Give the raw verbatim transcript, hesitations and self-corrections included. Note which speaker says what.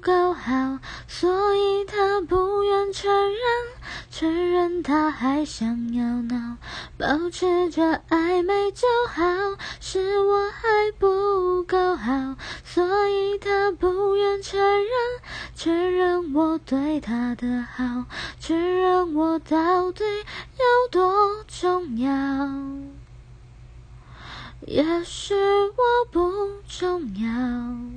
Speaker 1: 够好，所以他不愿承认，承认他还想要闹，保持着暧昧就好，是我还不够好，所以他不愿承认，承认我对他的好，承认我到底有多重要，也许我不重要。